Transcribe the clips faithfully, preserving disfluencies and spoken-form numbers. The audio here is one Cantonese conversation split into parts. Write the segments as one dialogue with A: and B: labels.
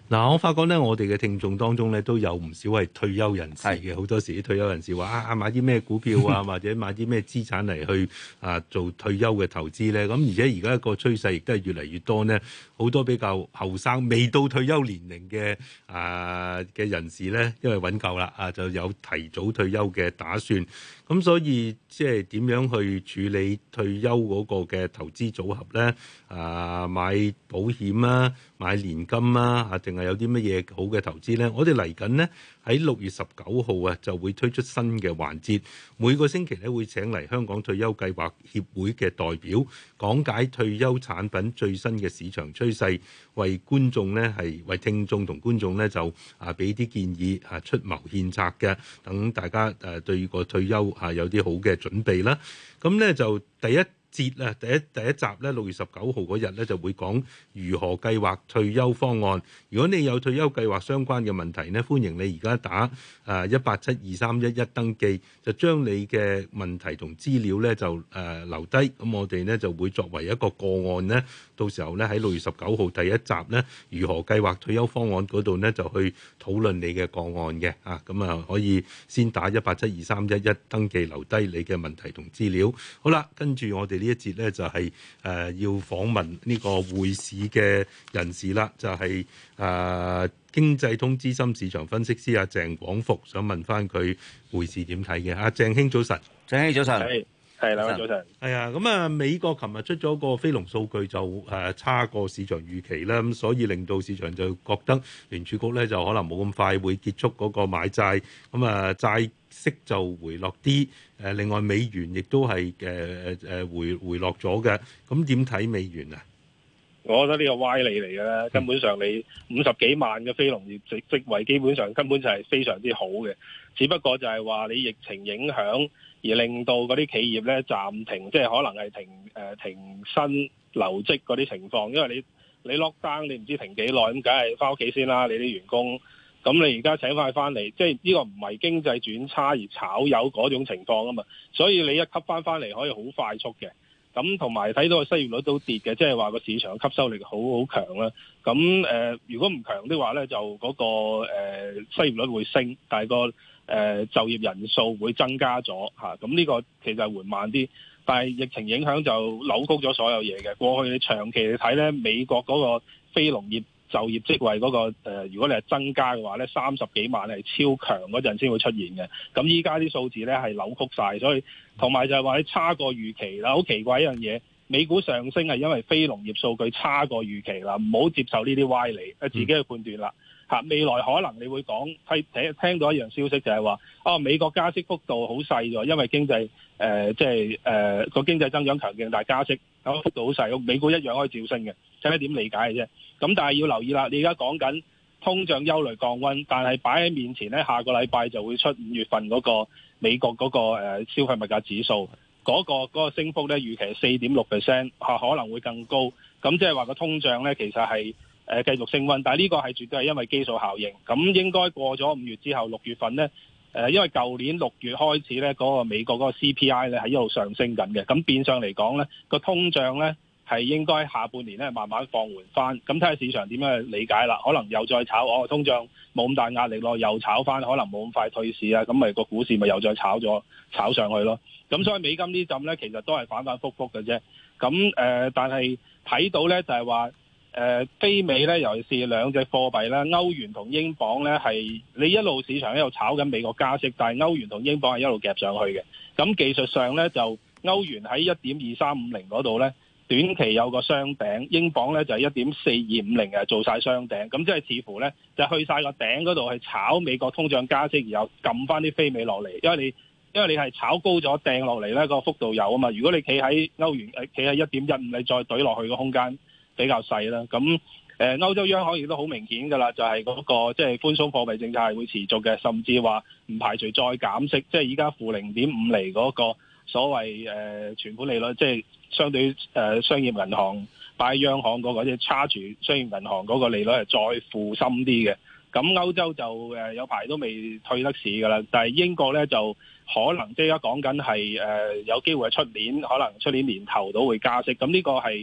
A: 嗱，我發覺咧，我哋嘅聽眾當中咧都有唔少係退休人士嘅，好
B: 係
A: 多時啲退休人士話啊買啲咩股票啊，或者買啲咩資產嚟去啊做退休嘅投資咧。咁而且而家個趨勢亦都係越嚟越多呢，好多比較後生未到退休年齡嘅啊嘅人士咧，因為揾夠啦啊，就有提早退休嘅打算。咁所以即係點樣去處理退休嗰個嘅投資組合咧？啊，買保險啊，買年金啊，啊，定係有啲乜嘢好嘅投資咧？我哋嚟緊呢，喺六月十九號啊，就會推出新嘅環節，每個星期咧會請嚟香港退休計劃協會嘅代表講解退休產品最新嘅市場趨勢，為觀眾咧係為聽眾同觀眾咧就啊俾啲建議啊出謀獻策嘅，等大家誒對個退休啊有啲好嘅準備啦。咁咧就第一節啊，第一第一集咧，六月十九號嗰日咧就會講如何計劃退休方案。如果你有退休計劃相關嘅問題呢，歡迎你而家打誒一八七二三一一登記，就將你嘅問題同資料咧就誒、呃、留低。咁我哋呢就會作為一個個案呢，到時候咧喺六月十九號第一集呢，如何計劃退休方案嗰度呢，就去討論你嘅個案嘅啊。咁啊可以先打一八七二三一一登記，留低你嘅問題同資料。好啦，跟住我哋呢一節咧就係、是、誒、呃、要訪問呢個匯市嘅人士啦，就係、是、誒、呃、經濟通資深市場分析師阿鄭廣復，想問翻佢匯市點睇嘅。阿鄭兄早晨。
B: 鄭兄早晨。
C: 係係兩位早晨。
A: 係啊，咁啊美國琴日出咗個非農數據就誒差過市場預期啦，咁所以令到市場就覺得聯儲局咧就可能冇咁快會結束嗰個買債，咁啊債息就回落啲。誒另外美元亦都係誒誒回回落咗嘅，咁點睇美元啊？
C: 我覺得呢個歪理嚟嘅啦，根本上你五十幾萬嘅非農業職職位，基本上根本就係非常之好嘅，只不過就係話你疫情影響而令到嗰啲企業咧暫停，即係可能係停誒、呃、停薪留職嗰啲情況，因為你你 lock down 你唔知停幾耐，咁梗係翻屋企先啦，你啲員工。咁你而家請翻佢翻嚟，即係呢個唔係經濟轉差而炒魷嗰種情況啊嘛，所以你一吸翻翻嚟可以好快速嘅。咁同埋睇到個失業率都跌嘅，即係話個市場吸收力好好強啦。咁誒、呃，如果唔強的話咧，就嗰、那個誒、呃、失業率會升，但係個誒、呃、就業人數會增加咗嚇。咁、啊、呢個其實係緩慢啲，但係疫情影響就扭曲咗所有嘢嘅。過去你長期嚟睇咧，美國嗰個非農業就業職位嗰、那個、呃、如果你係增加嘅話咧，三十幾萬係超強嗰陣先會出現嘅。咁依家啲數字咧係扭曲晒，所以同埋就係話你差過預期啦。好奇怪一樣嘢，美股上升係因為非農業數據差過預期啦，唔好接受呢啲歪理，自己去判斷啦。嚇，未來可能你會講聽聽到一樣消息就係話，哦美國加息幅度好細咗，因為經濟誒即係誒個經濟增長強勁，但係加息咁幅度好細，美股一樣可以照升嘅，睇下點理解嘅啫。咁但係要留意啦，你而家講緊通脹憂慮降溫，但係擺喺面前咧，下個禮拜就會出五月份嗰個美國嗰個誒消費物價指數，嗰個嗰個升幅咧預期係四點六 percent， 嚇可能會更高。咁即係話個通脹咧其實係誒繼續升溫，但係呢個係絕對係因為基數效應。咁應該過咗五月之後，六月份咧誒，因為舊年六月開始咧嗰個美國嗰個 C P I 咧係一路上升緊嘅，咁變相嚟講咧個通脹咧係應該下半年咧慢慢放緩翻，咁睇下市場點樣去理解啦。可能又再炒，哦通脹冇咁大壓力咯，又炒翻，可能冇咁快退市啊，咁咪個股市咪又再炒咗炒上去咯。咁所以美金呢陣咧其實都係反反覆覆嘅啫。咁誒、呃，但係睇到咧就係話誒非美咧，尤其是兩隻貨幣咧，歐元同英鎊咧係你一路市場喺度炒緊美國加息，但係歐元同英鎊係一路夾上去嘅。咁技術上咧就歐元喺一點二三五零嗰度咧，短期有個雙頂，英鎊咧就係一點四二五零嘅做晒雙頂，咁即係似乎咧就去晒個頂嗰度去炒美國通脹加息，然後撳翻啲非美落嚟，因為你因為你係炒高咗掟落嚟咧個幅度有啊嘛，如果你企喺歐元誒企喺一點一五，你再懟落去個空間比較細啦。咁誒、呃、歐洲央行亦都好明顯㗎啦，就係、是、嗰、那個即係、就是、寬鬆貨幣政策係會持續嘅，甚至話唔排除再減息，即係依家負零點五厘嗰個所謂誒、呃、存款利率，即、就、係、是、相對於誒、呃、商業銀行擺央行嗰、那個即係差住商業銀行嗰個利率係再負深啲嘅。咁歐洲就誒有排都未退得市㗎啦，但係英國咧就可能即係而家講緊係誒有機會係出年，可能出年年頭都會加息。咁呢個係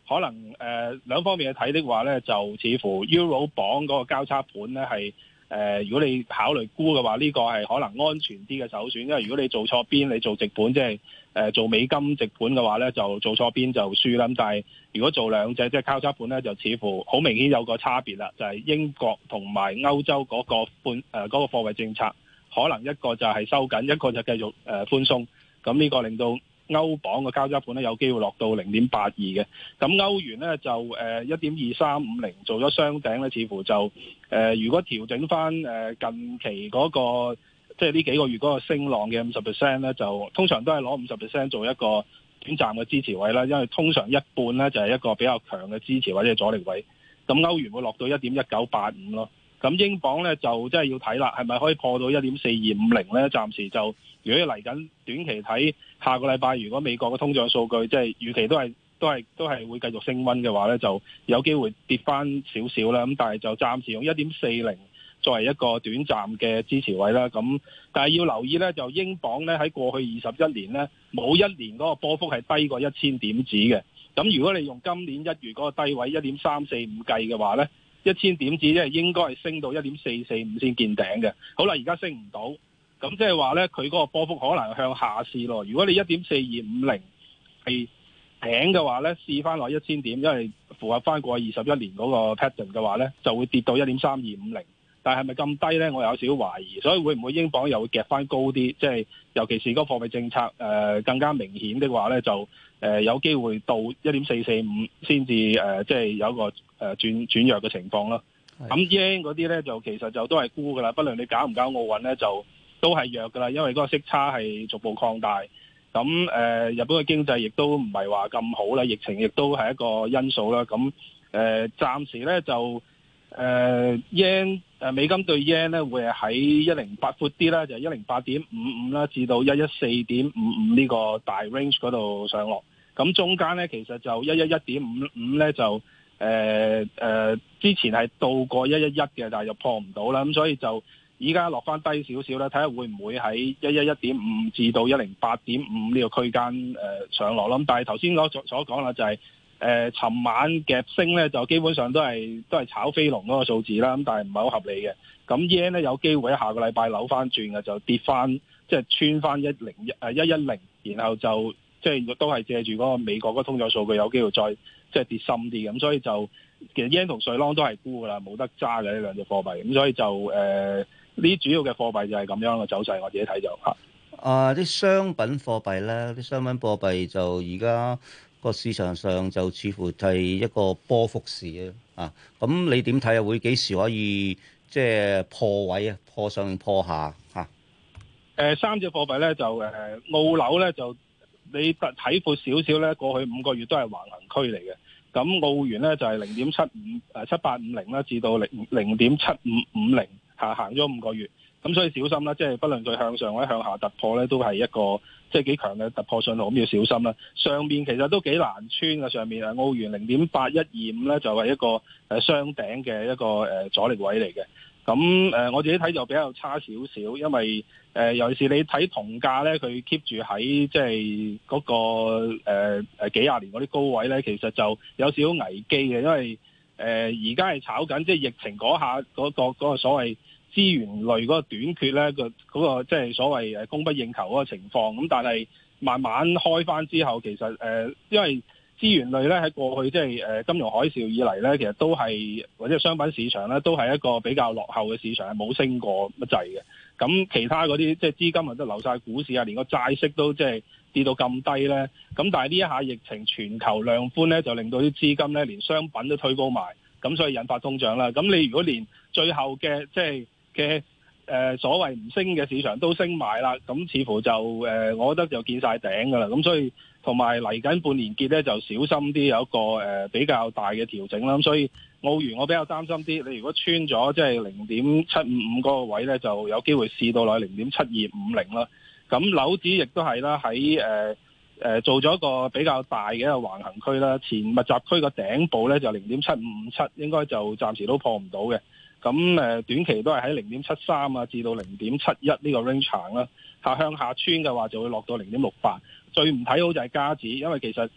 C: 可能誒、呃、兩方面去睇的話咧，就似乎 Euro 榜嗰個交叉盤咧係誒，如果你考慮沽嘅話，呢、這個係可能安全啲嘅首選，因為如果你做錯邊，你做直盤即係誒做美金直盤嘅話咧，就做錯邊就輸啦。咁但係如果做兩隻即係交叉盤咧，就似乎好明顯有個差別啦，就係、是、英國同埋歐洲嗰個寬誒嗰個貨幣政策，可能一個就係收緊，一個就繼續誒寬鬆。咁呢個令到歐鎊嘅交叉盤咧有機會落到零點八二嘅，咁歐元咧就誒一點二三五零做咗雙頂咧，似乎就誒、呃、如果調整翻誒近期嗰、那個即係呢幾個月嗰個升浪嘅五十 percent 咧，就通常都係攞五十 percent 做一個短暫嘅支持位啦，因為通常一半咧就係一個比較強嘅支持或者係阻力位，咁歐元會落到一點一九八五咯。咁英鎊咧就真係要睇啦，係咪可以破到一點四二五零咧？暫時就如果嚟緊短期睇下個禮拜，如果美國嘅通脹數據即係預期都係都係都係會繼續升溫嘅話咧，就有機會跌翻少少啦。咁但係就暫時用一點四零作為一個短暫嘅支持位啦。咁但係要留意咧，就英鎊咧喺過去二十一年咧冇一年嗰個波幅係低過一千點子嘅。咁如果你用今年一月嗰個低位一點三四五計嘅話咧，一千點子即係應該係升到一點四四五先見頂嘅。好啦，而家升唔到，咁即係話咧，佢嗰個波幅可能向下試咯。如果你一點四二五零係頂嘅話咧，試翻落一千點，因為符合翻過去二十一年嗰個 pattern 嘅話咧，就會跌到一點三二五零。但係係咪咁低咧？我有少少懷疑，所以會唔會英鎊又會夾翻高啲？即係尤其是嗰個貨幣政策誒、呃、更加明顯的話咧，就誒、呃、有機會到一點四四五先至誒，即係有一個誒、呃、轉轉弱嘅情況咯。咁 yen 嗰啲咧就其實就都係沽噶啦，不論你搞唔搞奧運咧，就都係弱噶啦，因為嗰個息差係逐步擴大。咁誒、呃、日本嘅經濟亦都唔係話咁好啦，疫情亦都係一個因素啦。咁誒、呃、暫時咧就誒 yen 誒美金對 yen 咧會係喺一零八闊啲啦，就係一零八點五五啦，至到一一四點五五呢個大 range 嗰度上落。咁中間咧其實就一一一點五五咧就誒誒、呃呃、之前係到過一一一嘅，但係又破唔到啦。咁所以就依家落翻低少少啦，睇下會唔會喺一一一點五至到一零八點五呢個區間誒上落啦。咁但係頭先我所所講啦，就係、是。誒、呃，尋晚夾升咧，就基本上都係都係炒飛龍嗰個數字啦，咁但係唔係好合理嘅。咁 yen 咧有機會喺下個禮拜扭翻轉嘅，就跌翻，即係穿翻一零一誒一一零，然後就即係都係借住嗰個美國嗰個通脹數據有機會再即係跌深啲。咁所以就其實 yen 同瑞郎都係沽噶啦，冇得揸嘅呢兩隻貨幣。咁所以就誒呢啲主要嘅貨幣就係咁樣嘅走勢，我自己睇就嚇。
B: 啊，啲商品貨幣咧，啲商品貨幣就而家個市場上就似乎係一個波幅市啊！咁你點睇啊？會幾時可以即係破位啊？破上破下嚇？誒、
C: 呃、三隻貨幣咧就誒、呃、澳紐咧就你睇闊少少咧，過去五個月都係橫行區嚟嘅。咁澳元咧就係零點七五誒七八五零啦，至到零零點七五五零下行咗五個月。咁所以小心啦，即係不論佢向上或者向下突破咧，都係一個即係幾強嘅突破信號，咁要小心啦。上面其實都幾難穿嘅，上面啊澳元零點八一二五咧就係一個誒雙頂嘅一個誒阻力位嚟嘅。咁誒我自己睇就比較差少少，因為誒尤其是你睇銅價咧，佢 keep 住喺即係嗰個誒誒幾廿年嗰啲高位咧，其實就有少少危機嘅，因為誒而家係炒緊即係疫情嗰下嗰個嗰個所謂資源類嗰個短缺咧，個嗰個即係所謂誒供不應求嗰個情況，咁但係慢慢開翻之後，其實誒、呃、因為資源類咧喺過去即係誒金融海嘯以嚟咧，其實都係或者商品市場咧都係一個比較落後嘅市場，係冇升過乜滯嘅。咁其他嗰啲即係資金啊都流晒股市啊，連個債息都即係跌到咁低咧。咁但係呢一下疫情全球量寬咧，就令到啲資金咧連商品都推高埋，咁所以引發通脹啦。咁你如果連最後嘅即係嘅誒所謂唔升嘅市場都升埋啦，咁似乎就誒、呃，我覺得就見晒頂噶啦。咁所以同埋嚟緊半年結咧，就小心啲有一個誒、呃、比較大嘅調整啦。咁所以澳元我比較擔心啲，你如果穿咗即係零點七五五嗰個位咧，就有機會試到落零點七二五零啦。咁紐指亦都係啦，喺誒誒做咗一個比較大嘅一個橫行區啦。前密集區個頂部咧就零點七五五七，應該就暫時都破唔到嘅。咁誒短期都係喺零點七三啊至到零點七一呢個 range 行啦，下向下穿嘅話就會落到零點六八。最唔睇好就係加指，因為其實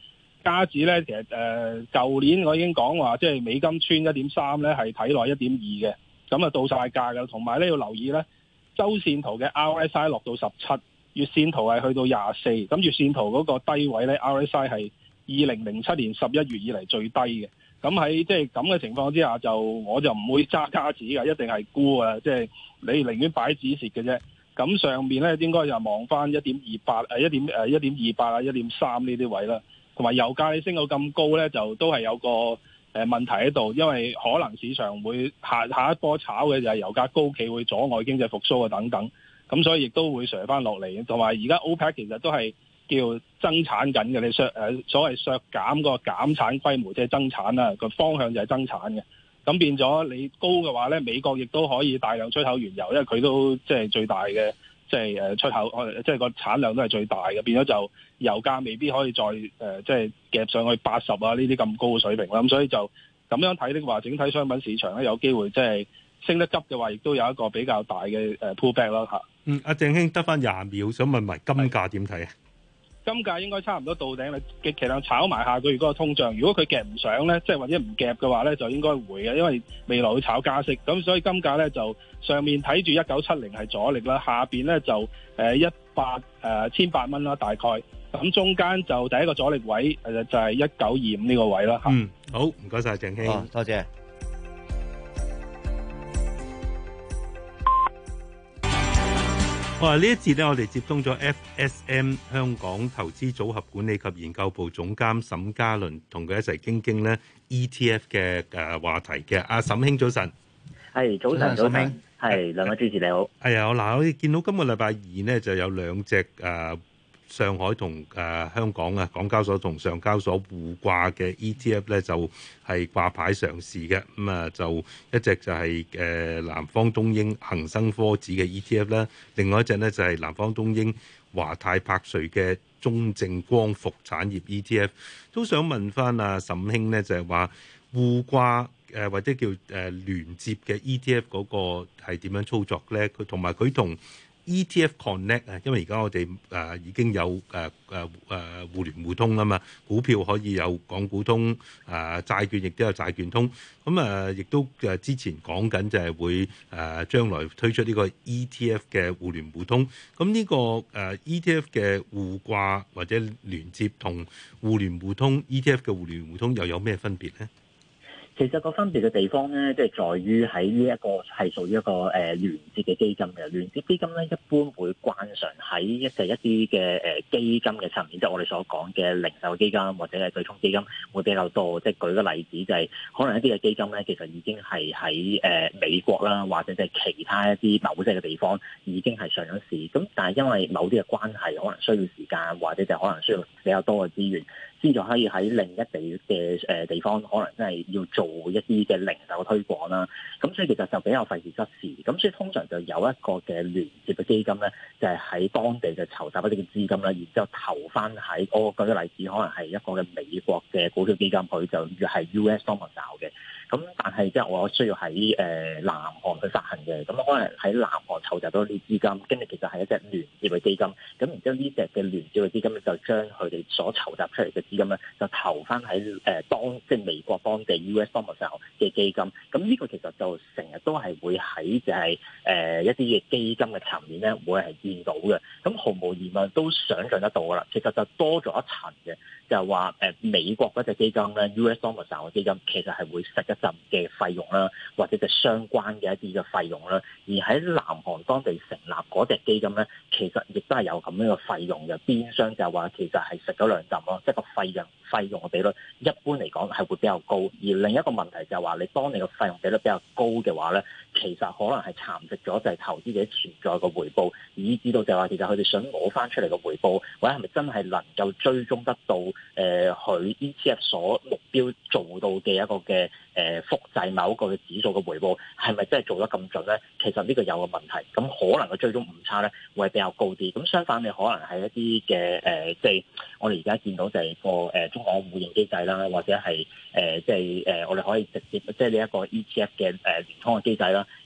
C: 加指咧，其實誒舊、呃、年我已經講話，即係美金穿一點三咧，係睇落一點二嘅，咁啊到晒價㗎。同埋咧要留意咧，周線圖嘅 R S I 落到十七，月線圖係去到廿四，咁月線圖嗰個低位咧 R S I 係二零零七年十一月以嚟最低嘅。咁喺即係咁嘅情況之下，就我就唔會揸加指㗎，一定係沽啊！即係你寧願擺止蝕嘅啫。咁上面咧應該就望翻一點二八誒一點誒一點二八啊一點三呢啲位啦。同埋油價你升到咁高咧，就都係有個誒問題喺度，因為可能市場會下下一波炒嘅就係油價高企會阻礙經濟復甦啊等等。咁所以亦都會瀉翻落嚟。同埋而家 OPEC 其實都係叫增產緊嘅，你削誒所謂削減個減產規模，即係增產啦，個方向就係增產嘅。咁變咗你高嘅話咧，美國亦都可以大量出口原油，因為佢都即係最大嘅，即係誒出口，即係個產量都係最大嘅。變咗就油價未必可以再誒即係夾上去八十啊呢啲咁高嘅水平啦。咁所以就咁樣睇的話，整體商品市場咧有機會即係升得急嘅話，亦都有一個比較大嘅誒 pullback 啦嚇。
A: 嗯，阿鄭兄得翻廿秒，想問埋金價點睇啊？
C: 金價應該差唔多到頂啦，極其量炒埋下個月嗰個通脹。如果佢夾唔上咧，即係或者唔夾嘅話咧，就應該會嘅，因為未來會炒加息。咁所以金價咧就上面睇住一九七零係阻力啦，下邊咧就誒一百誒千八蚊啦，大概。咁中間就第一個阻力位誒就係一九二五呢個位啦嚇。
A: 嗯，好，唔該晒鄭兄，
B: 哦，多謝。
A: 哇！呢一節咧，我哋接通咗 F S M 香港投資組合管理及研究部總監沈家倫，同佢一齊傾傾咧 E T F 嘅誒話題嘅。阿沈兄早晨，
D: 係早晨，早晨，係兩位主持你好。
A: 係啊，嗱，我哋見到今個禮拜二呢，就有兩隻誒。呃上海同誒、呃、香港啊，港交所同上交所互掛嘅 E T F 咧，就係、是、掛牌上市嘅。咁、嗯、啊，就一隻就係、是、誒、呃、南方東英恒生科指嘅 E T F 啦，另外一隻呢，就係、是、南方東英華泰柏瑞嘅中證光伏產業 E T F。都想問翻阿沈兄呢，就係、是、話互掛誒、呃、或者叫誒、呃、聯接嘅 E T F 嗰個係點樣操作咧？佢同埋佢同E T F Connect 啊，因為而家我哋誒、呃、已經有誒誒誒互聯互通啊嘛，股票可以有港股通，誒、呃、債券亦都有債券通，咁啊亦都誒之前講緊就係會誒、呃、將來推出呢個 E T F 嘅互聯互通，咁呢、這個誒、呃、E T F 嘅互掛或者連接同互聯互通 E T F 嘅互聯互通又有咩分別咧？
D: 其實個分別嘅地方咧，即係在於喺呢一個係屬於一個誒、呃、聯接嘅基金嘅聯接基金咧，一般會慣常喺一就一啲嘅誒基金嘅層面，即係我哋所講嘅零售基金或者係對沖基金會比較多。即係舉個例子，就係可能一啲嘅基金咧，其實已經係喺誒美國啦，或者即係其他一啲某些嘅地方已經係上咗市。咁但係因為某啲嘅關係，可能需要時間，或者就可能需要比較多嘅資源，先至可以喺另一地嘅誒地方，可能真係要做一啲嘅零售推廣啦。咁所以其實就比較費時失事。咁所以通常就有一個嘅聯接嘅基金咧，就係、是、喺當地就籌集一啲嘅資金啦，然之後投翻喺我舉個例子，可能係一個嘅美國嘅股票基金，佢就係 U S domicile 嘅。咁但係即係我需要喺誒、呃、南韓去發行嘅，咁可能喺南韓籌集到啲資金，跟住其實係一隻聯接嘅基金，咁然之後呢隻嘅聯接嘅基金咧，就將佢哋所籌集出嚟嘅資金咧，就投翻喺誒當即係美國當地 U S domicile 嘅基金，咁呢個其實就成日都係會喺就係、是、誒、呃、一啲嘅基金嘅層面咧，會係見到嘅，咁毫無疑問都想像得到噶啦，其實就多咗一層嘅。就係話誒美國嗰隻基金咧 ，U S domicile 嘅基金其實係會食一陣嘅費用啦，或者就相關嘅一啲嘅費用啦。而喺南韓當地成立嗰隻基金咧，其實亦都係有咁樣嘅費用嘅。變相就係話其實係食咗兩陣咯，即係個費用費用嘅比率一般嚟講係會比較高。而另一個問題就係話，你當你個費用比率比較高嘅話咧，其實可能係蠶食咗就係投資者潛在嘅回報，以至到就係話其實佢哋想攞翻出嚟嘅回報，或者係咪真係能夠追蹤得到？誒佢 E T F 所目標做到嘅一個嘅誒、呃、複製某一個嘅指數嘅回報，係咪真係做得咁準咧？其實呢個有個問題，咁可能個追蹤誤差咧會係比較高啲。咁相反，你可能係一啲嘅誒，即係我哋而家見到就係個誒中港互認機制啦，或者係誒即係誒我哋可以直接即係呢一個 E T F 嘅誒聯通嘅機制啦。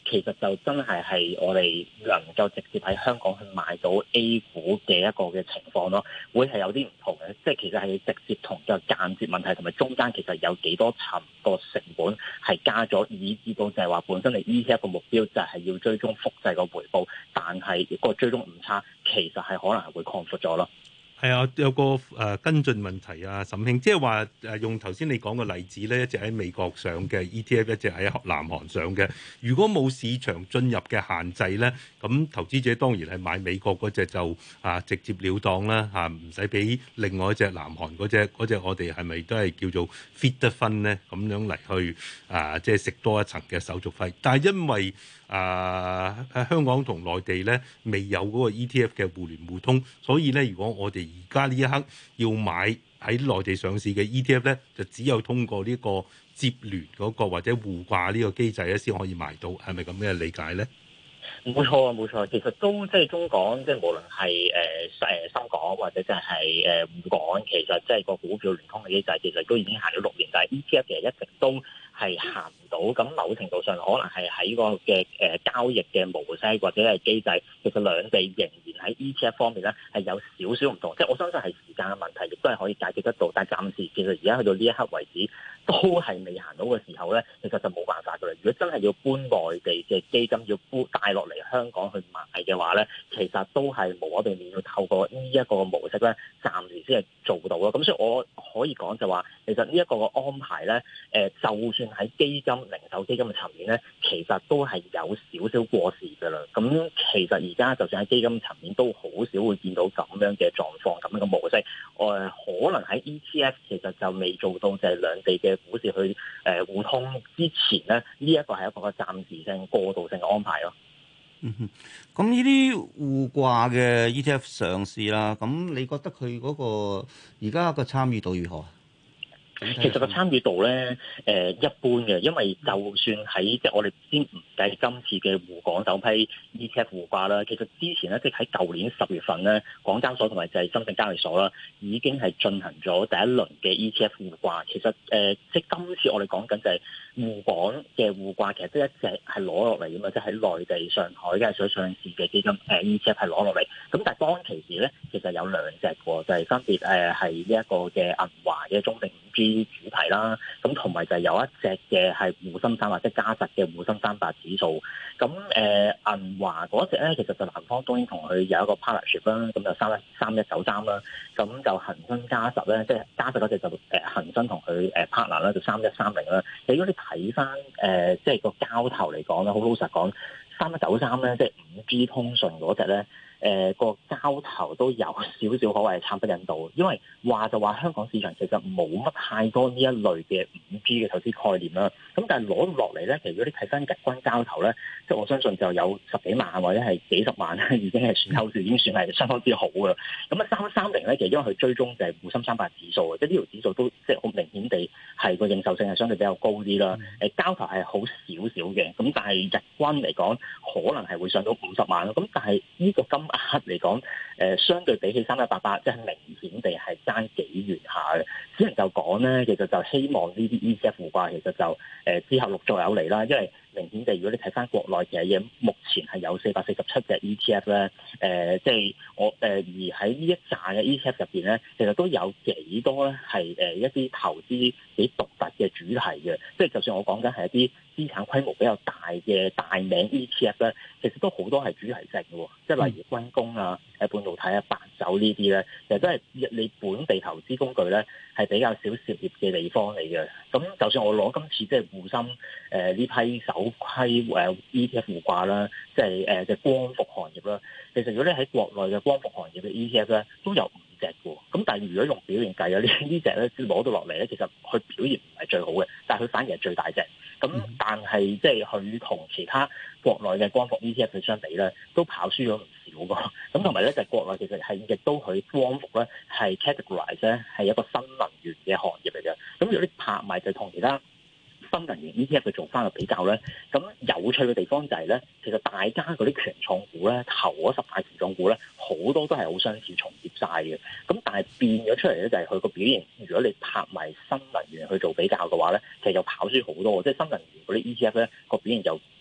D: 其實就真係係我哋能夠直接喺香港去買到 A 股嘅一個嘅情況咯，會係有啲唔同嘅，即係其實係直接同嘅間接問題，同埋中間其實有幾多層個成本係加咗，以至到就係話本身你 E T F 個目標就係要追蹤複製個回報，但係個追蹤誤差其實係可能係會擴闊咗咯。
A: 係啊，有個誒、呃、跟進問題啊，沈兄，即係話誒用頭先你講嘅例子咧，一隻喺美國上嘅 E T F，一隻喺南韓上嘅。如果冇市場進入嘅限制咧，咁投資者當然係買美國嗰隻就啊直接了當啦嚇，唔使俾另外一隻南韓嗰隻嗰隻，我哋係咪都係叫做 fit 得分咧？咁樣嚟去啊，即係食多一層嘅手續費。但係因為啊喺香港同內地咧未有嗰個 E T F 嘅互聯互通，所以咧如果我哋而家呢一刻要買喺內地上市嘅 E T F 咧，就只有通過呢個接聯嗰個或者互掛呢個機制咧，先可以買到，係咪咁嘅理解咧？
D: 冇錯啊，冇錯，其實都即係中港，即係無論係誒誒深港或者即係誒滬港，其實即係個股票聯通嘅機制，其實都已經行咗六年，但係 E T F 其實一直都係行唔到。咁某程度上可能係喺個嘅誒交易嘅模式或者係機制，其實兩地仍然喺 E T F 方面咧係有少少唔同。即係我相信係時間嘅問題，亦都係可以解決得到。但係暫時其實而家去到呢一刻為止，都係未行到嘅時候咧，其實就冇辦法㗎啦。如果真係要搬內地嘅基金要搬帶落嚟香港去買嘅話咧，其實都係無可避免要透過呢一個模式咧，暫時先係做到咯。咁所以我可以講就話，其實呢一個嘅安排咧，誒就算喺基金、零售基金嘅層面咧，其實都係有少少過時㗎啦。咁其實而家就算喺基金層面，都好少會見到咁樣嘅狀況、咁樣嘅模式。誒、呃、可能喺 E T F 其實就未做到就係兩地嘅股市去誒、呃、互通之前咧，呢、這、一個係一個暫時性、過渡性嘅安排咯。
B: 嗯哼，咁呢啲互掛嘅 E T F 上市啦，咁你覺得佢嗰個而家個參與度如何？
D: 其實個參與度咧，誒、呃、一般嘅，因為就算喺即係我哋先唔計今次嘅滬港首批 E T F 互掛啦，其實之前咧即係喺舊年十月份咧，港交所同埋就係深圳交易所啦，已經係進行咗第一輪嘅 E T F 互掛。其實誒、呃，即係今次我哋講緊就係滬港嘅互掛，其實即係一隻係攞落嚟㗎嘛，即係喺內地上海交易所上市嘅基金誒、呃、E T F 係攞落嚟。咁但係當其時咧，其實有兩隻喎，就係、是、分別誒係呢一個嘅銀華嘅中證五 G主題啦，咁同埋就係有一隻嘅係滬深三百或者嘉實嘅滬深三百指數。咁誒銀華嗰隻咧，其實就南方當然同佢有一個 partnership 啦，咁就三一三一九三啦。咁就恆生嘉實咧，即係嘉實嗰隻就誒恆生同佢誒 partner 啦，就三一三零啦。如果你睇翻誒即係個交投嚟講咧，好老實講，三一九三咧，即係五 G 通訊嗰隻咧。誒、呃、個交投都有少少可謂係慘不忍睹，因為話就話香港市場其實冇乜太多呢一類嘅五 G 嘅投資概念啦。咁但係攞落嚟咧，其實如果你睇翻日均交投咧，即係我相信就有十幾萬或者係幾十萬咧，已經係算後市已經算係相當之好噶啦。咁啊三三零咧，其實因為佢追蹤就係滬深三百指數嘅，即係呢條指數都即係好明顯地係個認受性係相對比較高啲啦。誒交投係好少少嘅，咁但係日均嚟講可能係會上到五十萬咯。咁但係呢個金額嚟講，誒、呃、相對比起三一八八，即係明顯地係爭幾遠下嘅。只能夠講咧，其實就希望呢啲 E T F 互掛，其實就誒、呃、之後陸續有嚟啦。因為明顯地，如果你睇翻國內嘅嘢，目前係有四百四十七隻 E T F 咧，誒、呃、即係我誒、呃、而喺呢一紮嘅 E T F 入邊咧，其實都有幾多咧係誒一啲投資幾獨特嘅主題嘅。即係就算我講緊係一啲資產規模比較大嘅大名 E T F 咧，其實都好多係主題性嘅，即係例如軍工啊、誒半導體啊、白酒呢啲咧，其實都係你本地投資工具咧係比較少涉獵嘅地方嚟嘅。咁就算我攞今次即係滬深誒呢、呃、批首批誒 E T F 互掛啦，即係誒嘅光伏行業啦，其實如果你喺國內嘅光伏行業嘅 E T F 咧，都有五隻嘅。咁但係如果用表現計啊，呢呢隻咧攞到落嚟咧，其實佢表現唔係最好嘅，但係佢反而係最大隻。咁但係即係佢同其他國內嘅光伏 E T F 相比咧，都跑輸咗唔少㗎。咁同埋咧就係國內其實係亦都佢光伏咧係 categorize 咧係一個新能源嘅行業嚟嘅。咁如果啲拍賣就同其他新能源 E T F 去做翻個比較咧，咁有趣嘅地方就係咧，其實大家嗰啲權重股咧，頭嗰十大權重股咧，好多都係好相似重疊晒嘅。咁但係變咗出嚟咧，就係佢個表現。如果你拍埋新能源去做比較嘅話咧，其實又跑輸好多。即係新能源嗰啲 E T F 咧個表現就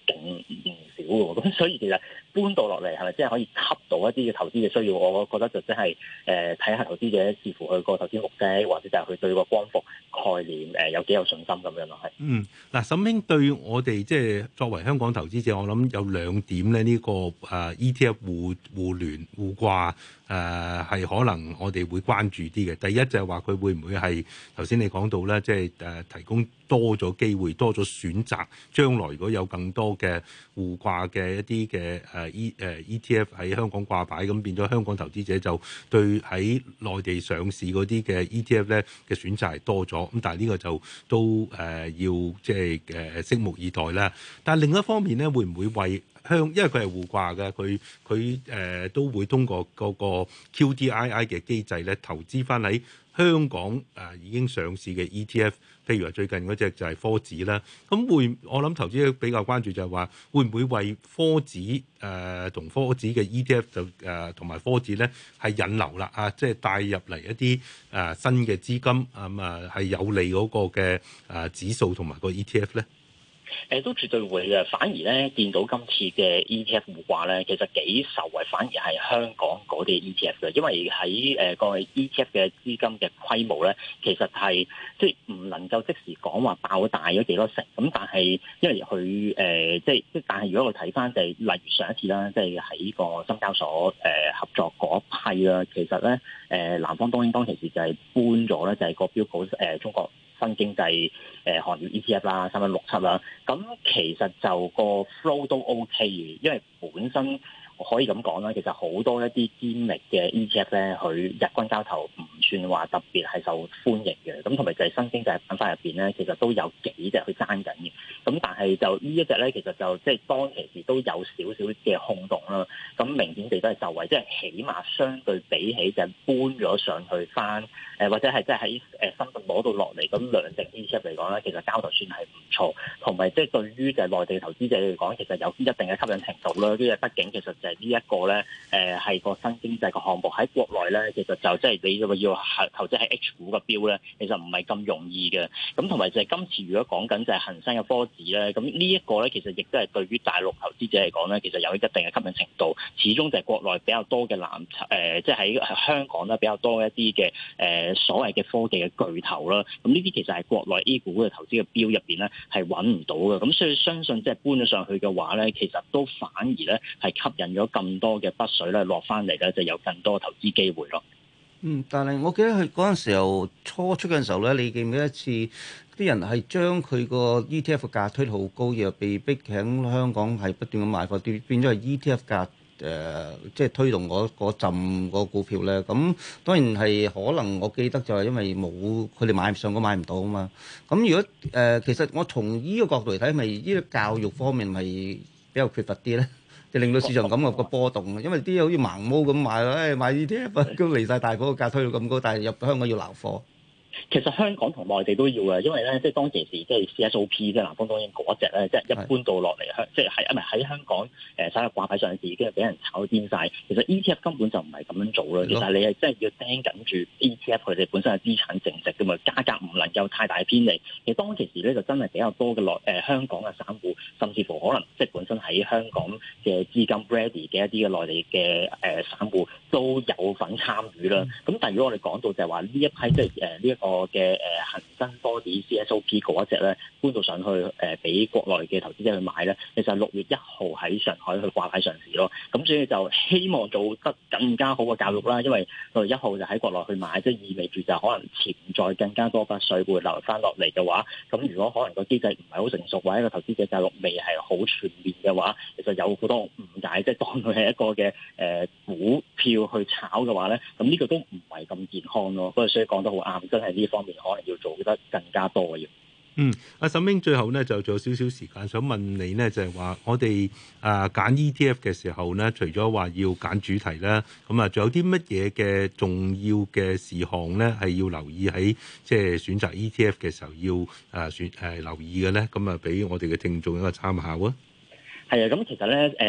D: 勁唔少嘅喎。咁所以其實搬到落嚟係咪真係可以吸到一啲嘅投資嘅需要？我覺得就真係誒睇下投資者視乎佢個投資目的，或者就係佢對個光伏概念誒、呃、有幾有信心咁樣咯。係
A: 嗯，嗱，沈兄對我哋即係作為香港投資者，我諗有兩點咧，呢、這個誒、呃、E T F 互互聯互掛誒係可能我哋會關注啲嘅。第一就係話佢會唔會係頭先你講到咧，即係誒提供多咗機會、多咗選擇，將來如果有更多嘅互掛嘅一啲嘅誒 E 誒 E T F 喺香港掛牌，咁變咗香港投資者就對喺內地上市嗰啲嘅 E T F 咧嘅選擇係多咗。咁但係呢個就都誒、呃、要即係誒拭目以待啦。但係另一方面咧，會唔會為香因為佢係互掛嘅，佢佢誒都會通過嗰個 Q D I I 嘅機制咧，投資翻喺香港誒、呃、已經上市嘅 E T F，譬如話最近嗰隻就係科指啦。咁會我諗投資者比較關注就係話，會唔會為科指誒同科指嘅 E T F 就誒同埋科指咧係引流啦啊，即係帶入嚟一啲誒、呃、新嘅資金咁啊係有利嗰個嘅誒、呃、指數同埋個 E T F 咧？
D: 誒都絕對會嘅，反而咧見到今次嘅 E T F 互掛咧，其實幾受惠，反而係香港嗰啲 E T F 嘅，因為喺誒個 E T F 嘅資金嘅規模咧，其實係即係唔能夠即時講話爆大咗幾多成，咁但係因為佢誒、呃、即係即係，但係如果我睇翻就係例如上一次啦，即係喺個深交所誒、呃、合作嗰一批啦，其實咧誒、呃、南方東英當其時就係搬咗咧，就係個標普誒、呃、中國新經濟誒、呃、行業 E T F 啦，三一六七啦，咁其實就個 flow 都 OK 嘅，因為本身可以咁講啦，其實好多一啲堅力嘅 E T F 咧，佢日均交投唔算話特別係受歡迎嘅，咁同埋就係新經濟板塊入邊咧，其實都有幾隻去爭緊嘅，咁但係就呢一隻咧，其實就即係當其時都有少少嘅轟動啦，咁明顯地都係受惠，即係起碼相對比起就係搬咗上去翻，誒或者係即係喺誒深圳攞到落嚟，咁兩隻 E T F 嚟講咧，其實交投算係唔錯，同埋即係對於就係內地投資者嚟講，其實有一定嘅吸引程度啦。因為畢竟其實就係呢一個咧，誒係個新經濟嘅項目喺國內咧，其實就即係你要要投資喺 H 股嘅標咧，其實唔係咁容易嘅。咁同埋就係今次如果講緊就係恒生嘅科指咧，咁呢一個咧其實亦都係對於大陸投資者嚟講咧，其實有一定嘅吸引程度。始終就係國內比較多嘅藍籌，誒即係喺香港咧比較多一啲嘅誒所謂嘅科技嘅巨頭啦。咁呢啲其實係國內 A 股嘅投資嘅標入邊咧係揾唔到嘅。咁所以相信即係搬咗上去嘅話咧，其實都反而咧係吸引咗咁多嘅北水咧落翻嚟咧，就有更多投資機會咯。
B: 嗯，但係我記得佢嗰陣時候初出嘅時候咧，你記唔記得一次啲人係將佢個 E T F 嘅價推得好高，而被逼喺香港係不斷咁賣貨，變變咗係 E T F 價誒、呃，即係推動嗰嗰陣個股票咧。咁當然係可能我記得就係因為冇佢哋買唔上，我買唔到啊嘛。咁如果誒、呃，其實我從呢個角度嚟睇，咪呢個教育方面咪比較缺乏啲咧？就令到市場感覺個波動，因為啲好似盲毛咁買，誒、哎、買 E T F 都離晒大嗰個價推到咁高，但係入香港要撈貨。
D: 其實香港同內地都要嘅，因為咧，即係當其時即係 C S O P 即係南方東英嗰隻咧，即係一般到落嚟香，即係喺唔係喺香港誒首日掛牌上市，已經係俾人炒癲晒。其實 E T F 根本就唔係咁樣做啦，其實你係真係要盯緊住 E T F 佢哋本身嘅資產淨值㗎嘛，價格唔能夠太大偏離。其實當其時咧就真係比較多嘅內誒香港嘅散戶，甚至乎可能即係本身喺香港嘅資金 ready 嘅一啲嘅內地嘅誒散戶都有份參與啦。咁、嗯、但係如果我哋講到就係話呢一批即係誒呢一個嘅誒恒生科指 C S O P 嗰一隻咧搬到上去誒俾國內嘅投資者去買咧，其實六月一號喺上海去掛牌上市咯。咁所以就希望做得更加好嘅教育啦，因為六月一號就喺國內去買，即係意味住就可能潛在更加多筆水會流翻落嚟嘅話，咁如果可能個機制唔係好成熟，或者個投資者教育未係好全面嘅話，其實有好多誤解，即係當佢係一個嘅誒、呃、股票去炒嘅話咧，咁呢個都唔係咁健康咯。不過所以講得好啱，真係呢方面可能要做得更加多嘅要。
A: 嗯，阿沈英最後咧就仲有少少時間，想問你呢，就係、是、話我哋啊揀 E T F 嘅時候呢，除咗話要揀主題啦，咁啊仲有啲乜嘢嘅重要嘅事項呢？係要留意喺即係選擇 E T F 嘅時候要啊選誒、呃、留意嘅咧？咁啊俾我哋嘅聽眾一個參考啊！
D: 係啊，咁其實咧，誒、呃，即係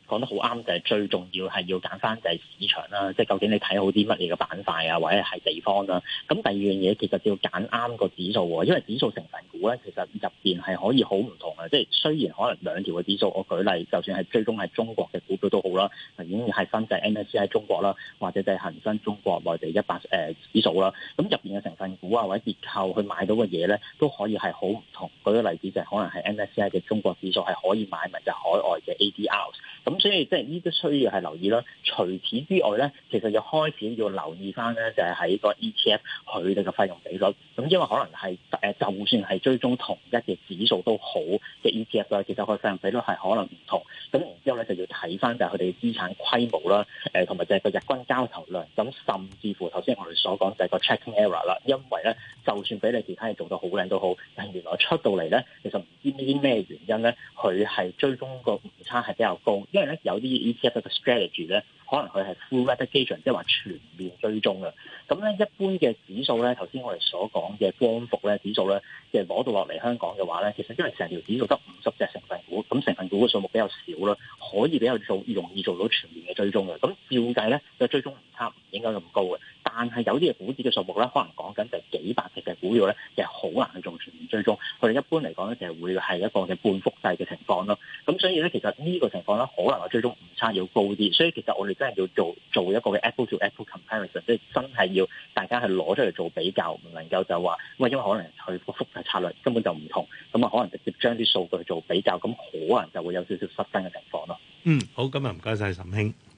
D: 講得好啱，就係最重要係要揀翻就係市場啦，即係究竟你睇好啲乜嘢嘅板塊啊，或者係地方啦。咁第二樣嘢其實要揀啱個指數喎，因為指數成分股咧其實入邊係可以好唔同嘅，即係雖然可能兩條嘅指數，我舉例，就算係追蹤係中國嘅股票都好啦，已經係分就係 M S C I 中國啦，或者就係恒生中國內地一百誒指數啦。咁入邊嘅成分股啊或者結構去買到嘅嘢咧，都可以係好唔同。舉個例子就係可能係 M S C I 嘅中國指數係可以買埋就海外嘅 A D R。咁所以即係呢都需要係留意啦。除此之外咧，其實要開始要留意翻咧，就係喺個 E T F 佢哋嘅費用比率。咁因為可能係誒，就算係追蹤同一嘅指數都好嘅 E T F 啦，其實佢費用比率係可能唔同。咁然之後咧就要睇翻就係佢哋嘅資產規模啦，誒同埋就係個日均交投量。咁甚至乎頭先我哋所講就係個 tracking error 啦。因為咧，就算俾你其他嘢做到好靚都好，但係原來出到嚟咧，其實唔知呢啲咩原因咧，佢係追蹤個誤差係比較高。因為咧有啲 E T F 嘅 strategy 咧，可能佢係 full replication，即係話全面追蹤嘅。咁咧一般嘅指數咧，頭先我哋所講嘅光伏咧指數咧，即係攞到落嚟香港嘅話咧，其實因為成條指數得五十隻成分股，咁成分股嘅數目比較少啦，可以比較做容易做到全面嘅追蹤嘅。咁照計咧，個追蹤誤差唔應該咁高嘅。但係有啲嘅股指嘅數目咧，可能講緊就係幾百隻嘅股票咧，其實好難去做全面追蹤。佢哋一般嚟講咧，就係會係一個嘅半複製嘅情況咯。咁所以咧，其實呢個情況咧，可能個追蹤誤差要高啲。所以其實我哋真係要做做一個嘅 apple to apple comparison，即係真係要大家係攞出嚟做比較，唔能夠就話喂，因為可能佢個複製策略根本就唔同，咁啊可能直接將啲數據做比較，咁可能就會有少少失真嘅情況咯。
A: 嗯，好，今日唔該晒岑兄。